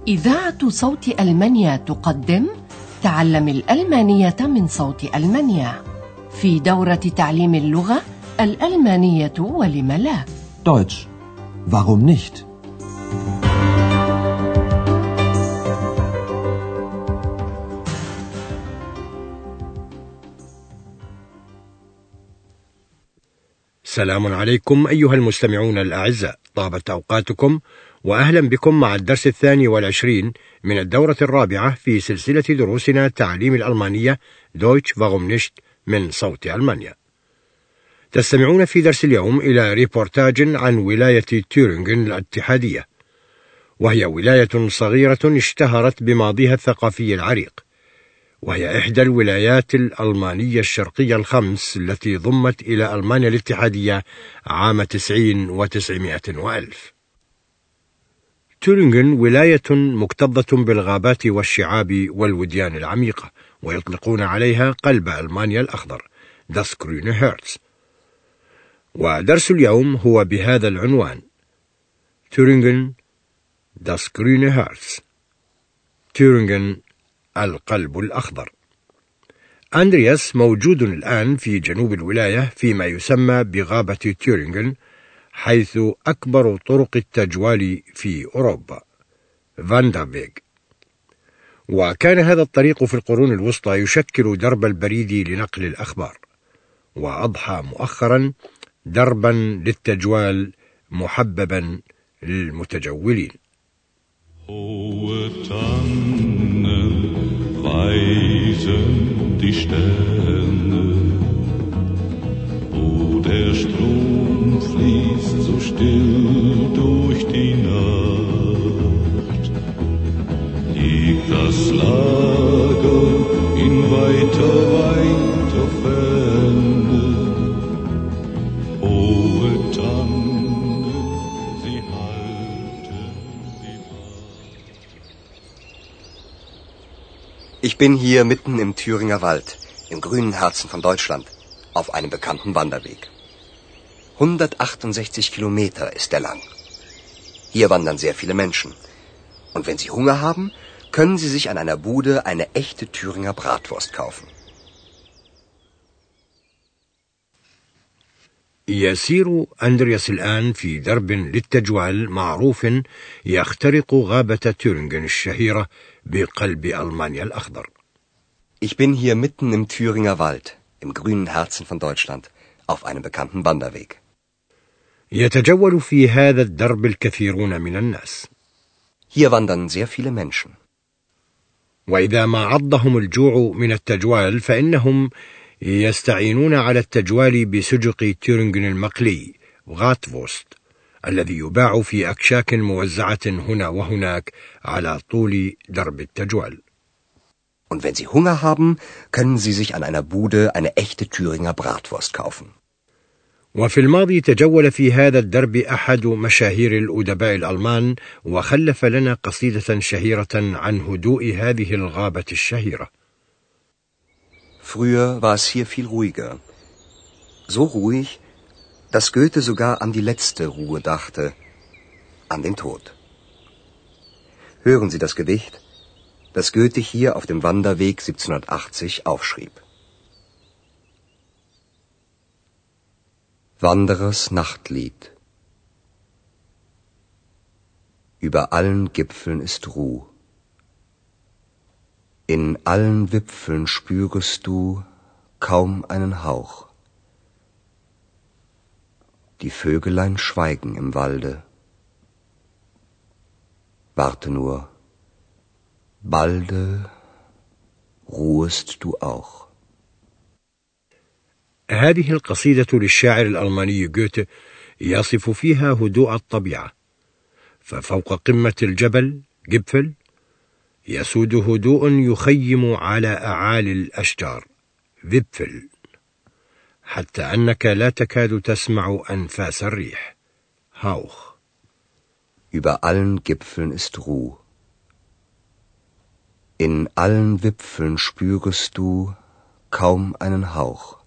إذاعة صوت ألمانيا تقدم تعلم الألمانية من صوت ألمانيا في دورة تعليم اللغة الألمانية ولم لا. Deutsch. Warum nicht? سلام عليكم أيها المستمعون الأعزاء، طابت أوقاتكم وأهلا بكم مع الدرس 22 من الدورة الرابعة في سلسلة دروسنا تعليم الألمانية Deutsch warum nicht من صوت ألمانيا. تستمعون في درس اليوم إلى ريبورتاج عن ولاية تورينغن الاتحادية، وهي ولاية صغيرة اشتهرت بماضيها الثقافي العريق، وهي إحدى الولايات الألمانية الشرقية الخمس التي ضمت إلى ألمانيا الاتحادية عام 90 و900 وألف. تورينغن ولاية مكتظة بالغابات والشعاب والوديان العميقة، ويطلقون عليها قلب ألمانيا الأخضر Das grüne Herz. ودرس اليوم هو بهذا العنوان: تورينغن Das grüne Herz. تورينغن القلب الأخضر. أندرياس موجود الآن في جنوب الولاية فيما يسمى بغابة تورينغن، حيث أكبر طرق التجوال في أوروبا فاندافيغ. وكان هذا الطريق في القرون الوسطى يشكل درب البريد لنقل الأخبار، وأضحى مؤخرا دربا للتجوال محببا للمتجولين. Weisen die Sterne, wo der Strom fließt so still durch die Nacht, liegt das Lager in weiter, weiter Ferne, hohe Tannen, sie halten die Wacht. Ich bin hier mitten im Thüringer Wald, im grünen Herzen von Deutschland, auf einem bekannten Wanderweg. 168 Kilometer ist er lang. Hier wandern sehr viele Menschen. Und wenn Sie Hunger haben, können Sie sich an einer Bude eine echte Thüringer Bratwurst kaufen. يسير أندرياس الآن في درب للتجوال معروف يخترق غابة تورينغن الشهيرة بقلب ألمانيا الأخضر. Ich bin hier mitten im Thüringer Wald, im grünen Herzen von Deutschland, auf einem bekannten Wanderweg. يتجول في هذا الدرب الكثيرون من الناس. Hier wandern sehr viele Menschen. وإذا ما عضهم الجوع من التجوال فإنهم يستعينون على التجوال بسجق تورينغن المقلي غاتفوست، الذي يباع في أكشاك موزعة هنا وهناك على طول درب التجوال. Und wenn Sie Hunger haben, können Sie sich an einer Bude eine echte Thüringer Bratwurst kaufen. وفي الماضي تجول في هذا الدرب أحد مشاهير الأدباء الألمان، وخلف لنا قصيدة شهيرة عن هدوء هذه الغابة الشهيرة. Früher war es hier viel ruhiger. So ruhig, dass Goethe sogar an die letzte Ruhe dachte, an den Tod. Hören Sie das Gedicht, das Goethe hier auf dem Wanderweg 1780 aufschrieb. Wanderers Nachtlied. Über allen Gipfeln ist Ruh. In allen Wipfeln spürest du kaum einen Hauch. Die Vögelein schweigen im Walde. Warte nur, balde ruhest du auch. هذه القصيدة للشاعر الألماني جوته يصف فيها هدوء الطبيعة، ففوق قمة الجبل جبفل يسود هدوء يخيم على أعالي الأشجار فيبفل، حتى أنك لا تكاد تسمع أنفاس الريح هاوخ. Über allen Gipfeln ist Ruh. In allen Wipfeln spürest du kaum einen Hauch.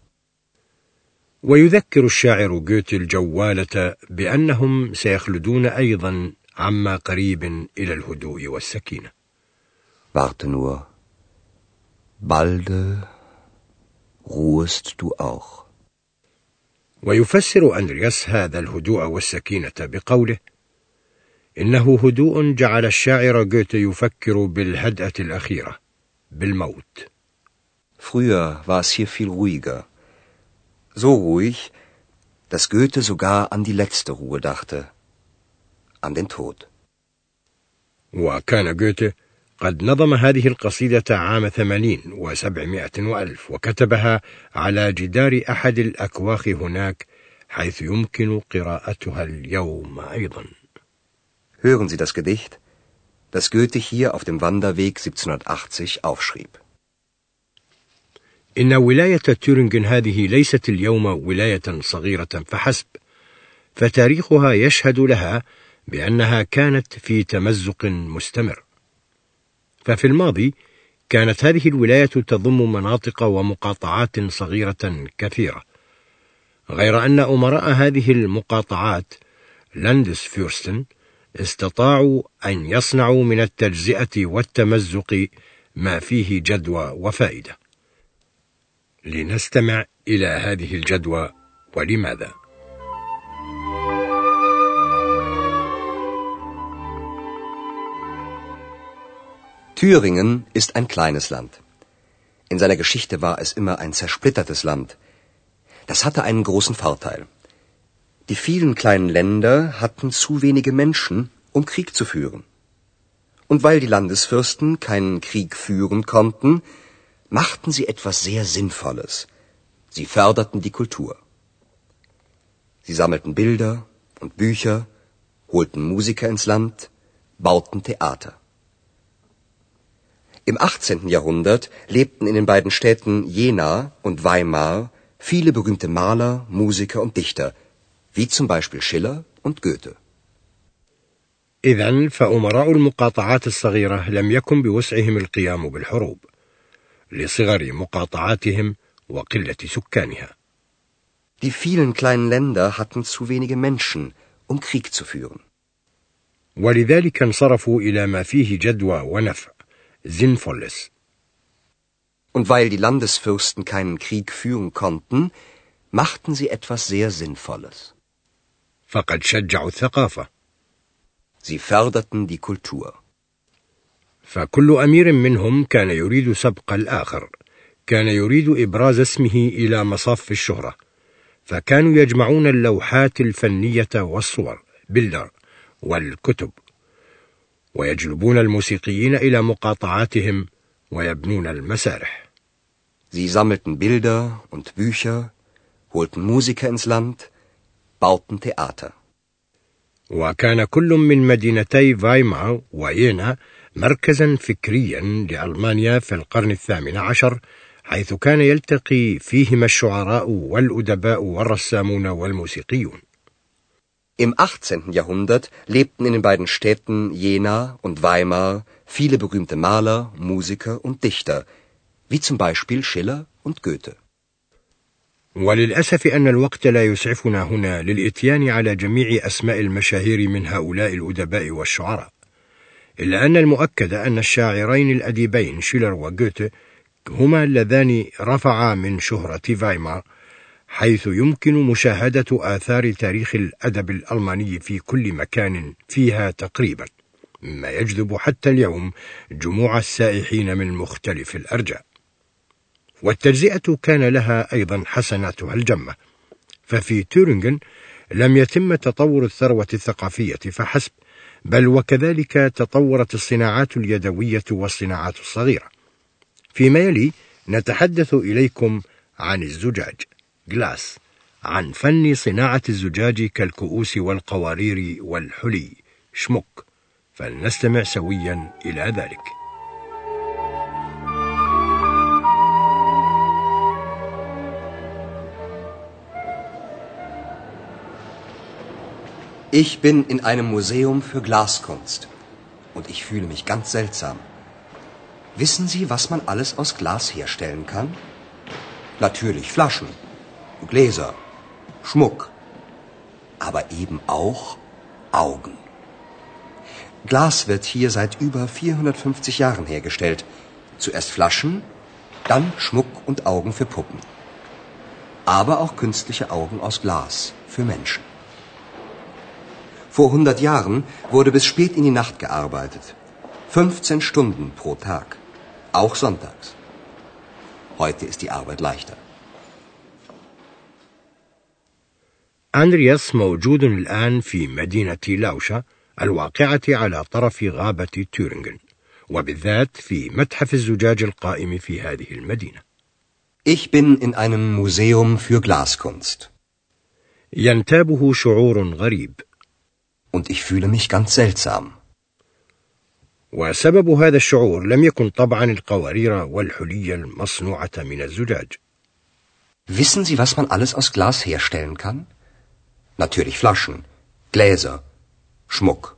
ويذكر الشاعر جوته الجوالة بأنهم سيخلدون أيضا عما قريب إلى الهدوء والسكينة. Warte nur. Balde ruhest du auch. ويفسر أندرياس هذا الهدوء والسكينة بقوله: إنه هدوء جعل الشاعر جوته يفكر بالهدأة الأخيرة، بالموت. Früher war es hier viel ruhiger. So ruhig, dass Goethe sogar an die letzte Ruhe dachte. An den Tod. وكان جوته قد نظم هذه القصيدة عام 80 و700 وألف، وكتبها على جدار أحد الأكواخ هناك، حيث يمكن قراءتها اليوم أيضا. Hören Sie das Gedicht, das Goethe hier auf dem Wanderweg 1780 aufschrieb. إن ولاية تورينغن هذه ليست اليوم ولاية صغيرة فحسب، فتاريخها يشهد لها بأنها كانت في تمزق مستمر. ففي الماضي كانت هذه الولاية تضم مناطق ومقاطعات صغيرة كثيرة، غير أن أمراء هذه المقاطعات لاندسفيرستن استطاعوا أن يصنعوا من التجزئة والتمزق ما فيه جدوى وفائدة. لنستمع إلى هذه الجدوى ولماذا. Thüringen ist ein kleines Land. In seiner Geschichte war es immer ein zersplittertes Land. Das hatte einen großen Vorteil. Die vielen kleinen Länder hatten zu wenige Menschen, um Krieg zu führen. Und weil die Landesfürsten keinen Krieg führen konnten, machten sie etwas sehr Sinnvolles. Sie förderten die Kultur. Sie sammelten Bilder und Bücher, holten Musiker ins Land, bauten Theater. Im 18. Jahrhundert lebten in den beiden Städten Jena und Weimar viele berühmte Maler, Musiker und Dichter, wie zum Beispiel Schiller und Goethe. إذن فأمراء المقاطعات الصغيرة لم يكن بوسعهم القيام بالحروب، لصغر مقاطعاتهم وقلة سكانها. Die vielen kleinen Länder hatten zu wenige Menschen, um Krieg zu führen. ولذلك انصرفوا إلى ما فيه جدوى ونفع، sinnvolles. Und weil die Landesfürsten keinen Krieg führen konnten, machten sie etwas sehr Sinnvolles. فقد شجعوا الثقافة. Sie förderten die Kultur. فكل أمير منهم كان يريد سبق الآخر، كان يريد إبراز اسمه إلى مصاف الشهرة، فكانوا يجمعون اللوحات الفنية والصور بيلدر والكتب، ويجلبون الموسيقيين إلى مقاطعاتهم ويبنون المسارح. Sie sammelten Bilder und Bücher, holten Musiker ins Land, bauten Theater. وكان كل من مدينتي فايمار ويينا مركزا فكريا لألمانيا في القرن 18، حيث كان يلتقي فيهما الشعراء والأدباء والرسامون والموسيقيون. Im 18. Jahrhundert lebten in den beiden Städten Jena und Weimar viele berühmte Maler, Musiker und Dichter, wie zum Beispiel Schiller und Goethe. وللأسف أن الوقت لا يسعفنا هنا للإتيان على جميع أسماء المشاهير من هؤلاء الأدباء والشعراء، إلا أن المؤكد أن الشاعرين الأديبين شيلر وغوته هما اللذان رفعا من شهرة فايمار، حيث يمكن مشاهدة آثار تاريخ الأدب الألماني في كل مكان فيها تقريبا، مما يجذب حتى اليوم جموع السائحين من مختلف الأرجاء. والتجزئة كان لها أيضا حسناتها الجمة، ففي تورينغن لم يتم تطور الثروة الثقافية فحسب، بل وكذلك تطورت الصناعات اليدوية والصناعات الصغيرة. فيما يلي نتحدث إليكم عن الزجاج جلاس، عن فن صناعة الزجاج كالكؤوس والقوارير والحلي شموك، فلنستمع سويا إلى ذلك. Ich bin in einem Museum für Glaskunst und ich fühle mich ganz seltsam. Wissen Sie, was man alles aus Glas herstellen kann? Natürlich Flaschen, Gläser, Schmuck, aber eben auch Augen. Glas wird hier seit über 450 Jahren hergestellt. Zuerst Flaschen, dann Schmuck und Augen für Puppen. Aber auch künstliche Augen aus Glas für Menschen. Vor 100 Jahren wurde bis spät in die Nacht gearbeitet. 15 Stunden pro Tag. Auch sonntags. Heute ist die Arbeit leichter. أندرياس موجود الآن في مدينة لاوشا الواقعة على طرف غابة تورينغن، وبالذات في متحف الزجاج القائم في هذه المدينة. Ich bin in einem Museum für Glaskunst. ينتابه شعور غريب. Und ich fühle mich ganz seltsam. وسبب هذا الشعور لم يكن طبعا القوارير والحلي المصنوعة من الزجاج. Wissen Sie, was man alles aus Glas herstellen kann? Natürlich Flaschen, Gläser, Schmuck.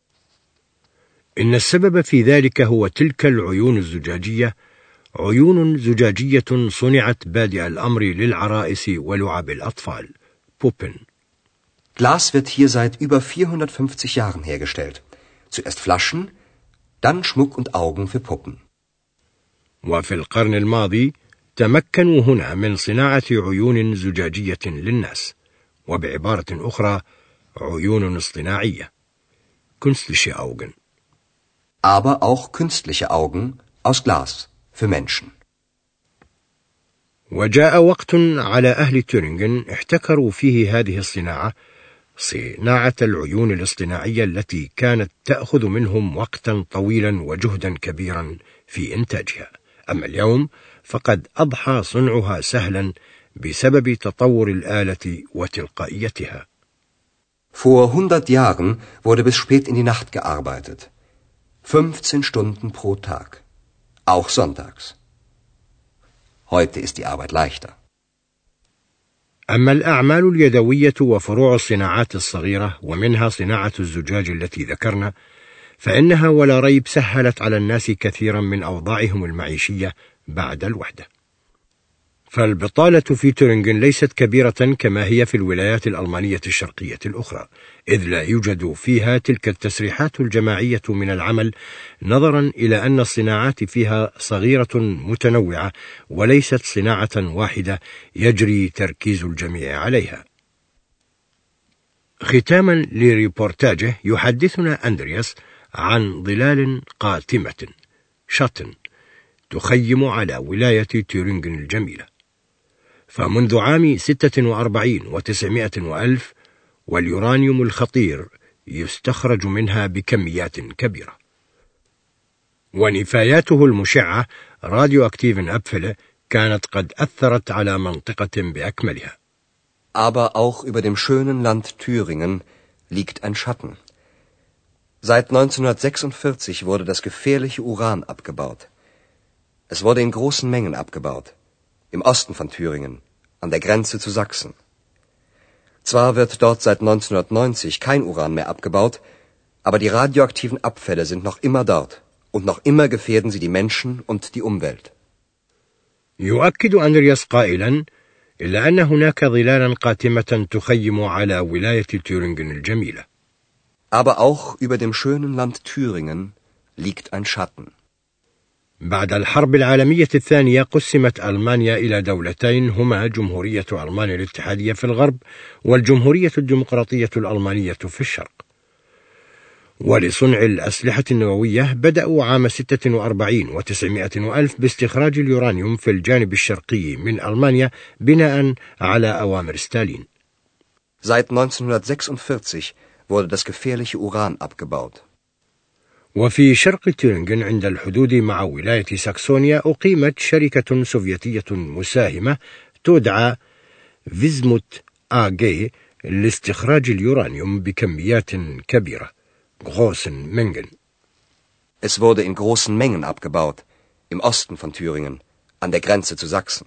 إن السبب في ذلك هو تلك العيون الزجاجية، عيون زجاجية صنعت بادئ الأمر للعرائس ولعب الأطفال، Puppen. Glas wird hier seit über 450 Jahren hergestellt. Zuerst Flaschen, dann Schmuck und Augen für Puppen. وفي القرن الماضي تمكنوا هنا من صناعة عيون زجاجية للناس، وبعبارة أخرى عيون اصطناعية، künstliche Augen. Aber auch künstliche Augen aus Glas für Menschen. وجاء وقت على أهل تورينغن احتكروا فيه هذه الصناعة، صناعة العيون الاصطناعية التي كانت تأخذ منهم وقتا طويلا وجهدا كبيرا في إنتاجها. أما اليوم فقد أضحى صنعها سهلا بسبب تطور الآلة وتلقائيتها. Vor 100 Jahren wurde bis spät in die Nacht gearbeitet. 15 Stunden pro Tag. Auch sonntags. Heute ist die Arbeit leichter. أما الأعمال اليدوية وفروع الصناعات الصغيرة ومنها صناعة الزجاج التي ذكرنا، فإنها ولا ريب سهلت على الناس كثيرا من أوضاعهم المعيشية بعد الوحدة. فالبطالة في تورينغن ليست كبيرة كما هي في الولايات الألمانية الشرقية الأخرى، إذ لا يوجد فيها تلك التسريحات الجماعية من العمل، نظرا إلى أن الصناعات فيها صغيرة متنوعة وليست صناعة واحدة يجري تركيز الجميع عليها. ختاما لريبورتاجه يحدثنا أندرياس عن ظلال قاتمة شاتن تخيم على ولاية تورينغن الجميلة. فمنذ عام 46 و900 وألف واليورانيوم الخطير يستخرج منها بكميات كبيرة، ونفاياته المشعة راديو أكتيفن أبفله كانت قد أثرت على منطقة بأكملها. Aber auch über dem schönen Land Thüringen liegt ein Schatten. Seit 1946 wurde das gefährliche Uran abgebaut. Es wurde in großen Mengen abgebaut. Im Osten von Thüringen, an der Grenze zu Sachsen. Zwar wird dort seit 1990 kein Uran mehr abgebaut, aber die radioaktiven Abfälle sind noch immer dort und noch immer gefährden sie die Menschen und die Umwelt. يؤكد أندرياس قائلا: إلا أن هناك ظلالا قاتمة تخيم على ولاية تورينغن الجميلة. Aber auch über dem schönen Land Thüringen liegt ein Schatten. بعد الحرب العالمية الثانية قسمت ألمانيا إلى دولتين، هما جمهورية ألمانيا الاتحادية في الغرب والجمهورية الديمقراطية الألمانية في الشرق. ولصنع الأسلحة النووية بدأوا عام 46 و900 وألف باستخراج اليورانيوم في الجانب الشرقي من ألمانيا بناء على أوامر ستالين. Seit 1946 wurde das gefährliche Uran abgebaut. وفي شرق تورينغن عند الحدود مع ولاية ساكسونيا أقيمت شركة سوفيتية مساهمة تدعى فيزموت AG لاستخراج اليورانيوم بكميات كبيرة، großen Mengen. Es wurde in großen Mengen abgebaut, im Osten von Thüringen, an der Grenze zu Sachsen.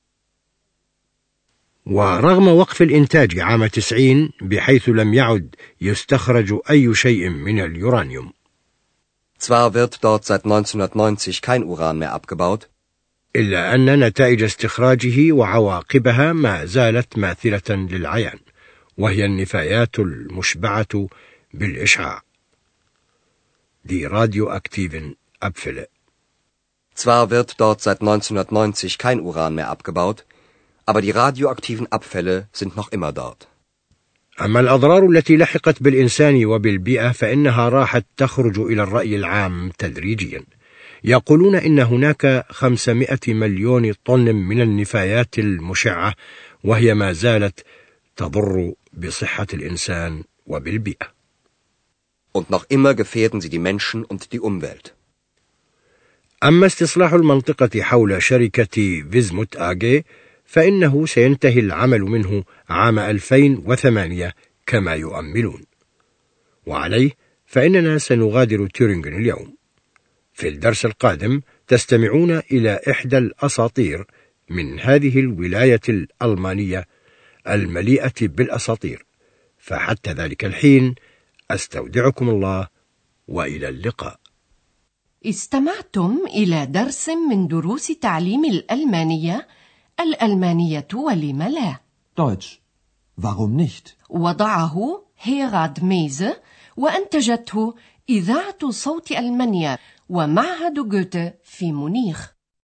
ورغم وقف الإنتاج عام 90 بحيث لم يعد يستخرج أي شيء من اليورانيوم. Zwar wird dort seit 1990 kein Uran mehr abgebaut, إلا أن نتائج استخراجه وعواقبها ما زالت ماثلة للعيان، وهي النفايات المشبعة بالإشعاع. die radioaktiven Abfälle. Zwar wird dort seit 1990 kein Uran mehr abgebaut, aber die radioaktiven Abfälle sind noch immer dort. أما الأضرار التي لحقت بالإنسان وبالبيئة فإنها راحت تخرج إلى الرأي العام تدريجيا. يقولون إن هناك 500 مليون طن من النفايات المشعة، وهي ما زالت تضر بصحة الإنسان وبالبيئة. Und noch immer gefährden sie die Menschen und die Umwelt. أما استصلاح المنطقة حول شركة فيزموت آجي فإنه سينتهي العمل منه عام 2008 كما يؤملون، وعليه فإننا سنغادر تورينغن اليوم. في الدرس القادم تستمعون إلى إحدى الأساطير من هذه الولاية الألمانية المليئة بالأساطير، فحتى ذلك الحين أستودعكم الله وإلى اللقاء. استمعتم إلى درس من دروس تعليم الألمانية ولم لا. Deutsch. Warum nicht? وضعه هيراد ميزه وأنتجته إذاعة صوت ألمانيا ومعهد جوته في مونيخ.